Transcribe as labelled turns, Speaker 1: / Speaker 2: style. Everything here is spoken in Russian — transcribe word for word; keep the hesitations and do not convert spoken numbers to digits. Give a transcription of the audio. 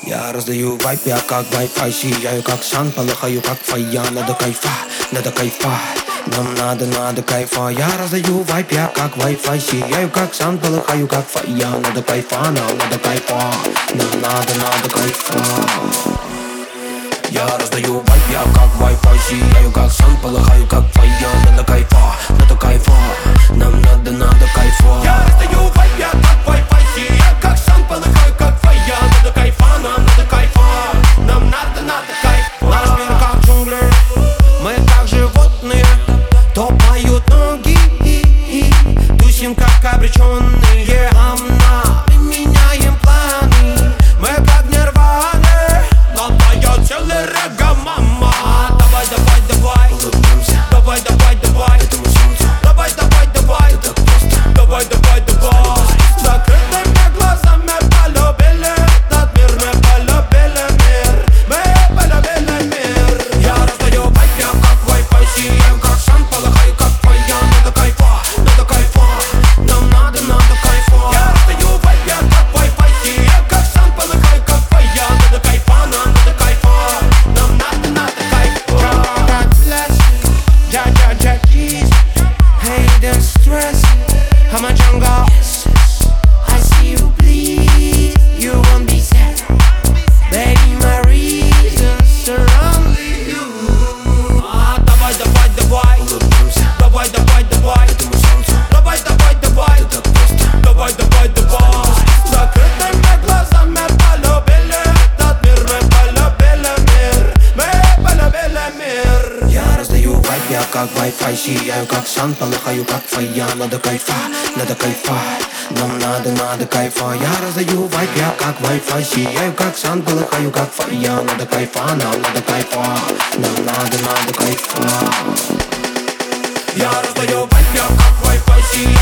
Speaker 1: Я раздаю вайп, я как Wi-Fi, сияю как сан, полыхаю как фая. Надо кайфа, надо кайфа, нам надо, надо кайфа. Я раздаю вайп, я как Wi-Fi, сияю как сан, полыхаю как фая. Надо кайфа, нам надо кайфа, нам надо, надо кайфа. Я раздаю вайп, я как Wi-Fi, сияю как сан, полыхаю как фая. Надо кайфа, надо кайфа, нам надо, надо кайфа. Я раздаю вайп, я как Wi-Fi, сияю как сан, полыхаю как фая. Надо кайфа, нам надо кайфа, нам надо, надо кайфа. Наш мир как джунгли, мы как животные, топают ноги, тусим как обреченные. Амна, мы меняем планы, мы как нирваны, но поет целый регга, мама. Давай, давай, давай, улыбнемся. Давай, давай, давай, этому солнцу. Давай, давай, давай, это так просто. Давай, давай, давай, закрытыми глазами полюбили этот мир, мы полюбили мир, мы полюбили мир. Я раздаю вайп, я как Wi-Fi, сияю как сан, полыхаю как фая. Надо кайфа, надо кайфа, нам надо, надо кайфа. Я раздаю вайп, я как Wi-Fi, сияю как сан, полыхаю как фая. Надо кайфа, нам надо кайфа, нам надо, надо кайфа. God bless you, Jah Jah Jah Jesus. Hate the stress, I'm a jungle. I see you bleed, you won't be sad. Baby, my reasons surround you. А, давай, давай, давай, улыбнемся. Давай, давай, давай, этому солнцу. Давай, давай, давай, это так просто. Давай, давай, давай, закрытыми глазами полюбили этот мир, мы полюбили мир, мы полюбили мир. Я раздаю вайп, я как Wi-Fi, сияю как сан, полыхаю как фая. Надо кайфа, надо кайфа, нам надо, надо кайфа. Я раздаю вайп, я как Wi-Fi, сияю как сан, полыхаю как фая. Надо кайфа, нам надо кайфа, нам надо, надо кайфа. Я раздаю вайп, я как Wi-Fi, сияю